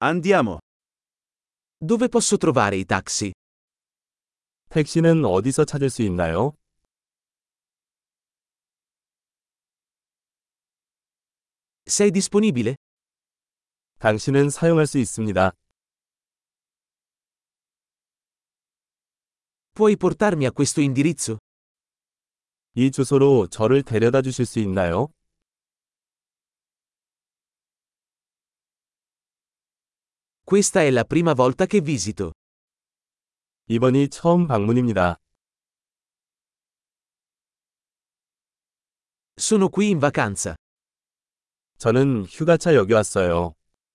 Andiamo. Dove posso trovare i taxi? 택시는 어디서 찾을 수 있나요? Sei disponibile? 당신은 사용할 수 있습니다. Puoi portarmi a questo indirizzo? 이 주소로 저를 데려다 주실 수 있나요? Questa è la prima volta che visito. 이번이 처음 방문입니다. Sono qui in vacanza. 저는 휴가차 여기 왔어요.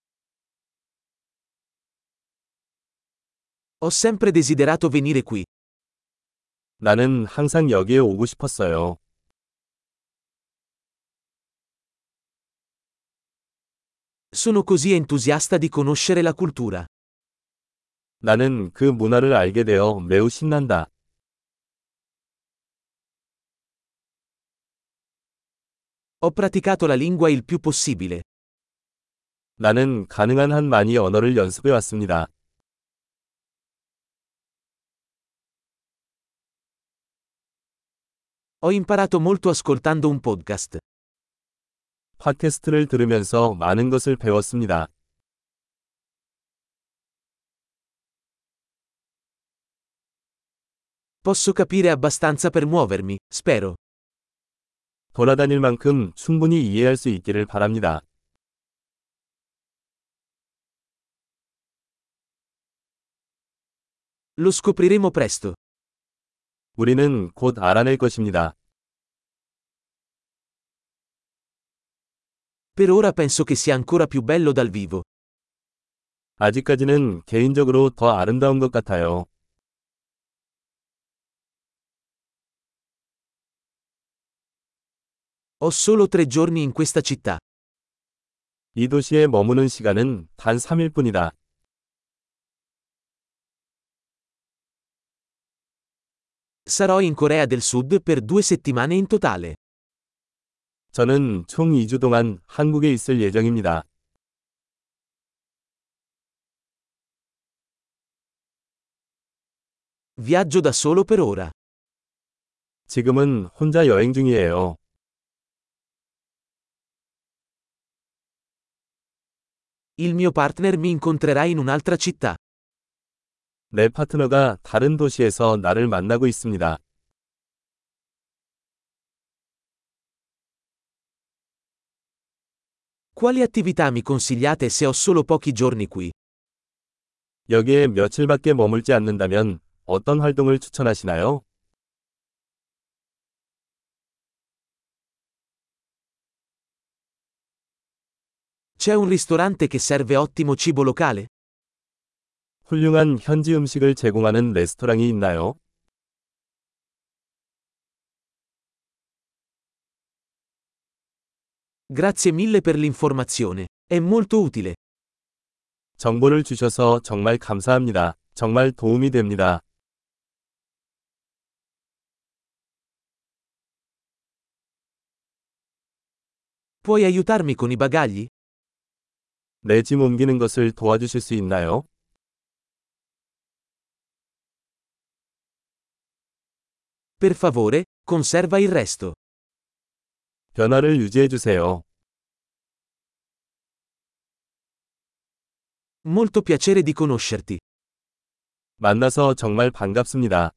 Ho sempre desiderato venire qui. 나는 항상 여기에 오고 싶었어요. Sono così entusiasta di conoscere la cultura. 나는 그 문화를 알게 되어 매우 신난다. Ho praticato la lingua il più possibile. 나는 가능한 한 많이 언어를 연습해 왔습니다. Ho imparato molto ascoltando un podcast. 팟캐스트를 들으면서 많은 것을 배웠습니다. Posso capire abbastanza per muovermi, spero. 돌아다닐 만큼 충분히 이해할 수 있기를 바랍니다. Lo scopriremo presto. 우리는 곧 알아낼 것입니다. Per ora penso che sia ancora più bello dal vivo. 아직까지는 개인적으로 더 아름다운 것 같아요. Ho solo 3 giorni in questa città. 이 도시에 머무는 시간은 단 3일 뿐이다. Sarò in Corea del Sud per 2 settimane in totale. 저는 총 2주 동안 한국에 있을 예정입니다. Viaggio da solo per ora. 지금은 혼자 여행 중이에요. Il mio partner mi incontrerà in un'altra città. 내 파트너가 다른 도시에서 나를 만나고 있습니다. Quali attività mi consigliate se ho solo pochi giorni qui? 여기에 며칠밖에 머물지 않는다면 어떤 활동을 추천하시나요? C'è un ristorante che serve ottimo cibo locale? 훌륭한 현지 음식을 제공하는 레스토랑이 있나요? Grazie mille per l'informazione. È molto utile. 정보를 주셔서 정말 감사합니다. 정말 도움이 됩니다. Puoi aiutarmi con i bagagli? 내 짐 옮기는 것을 도와주실 수 있나요? Per favore, conserva il resto. 변화를 유지해 주세요. Molto piacere di conoscerti. 만나서 정말 반갑습니다.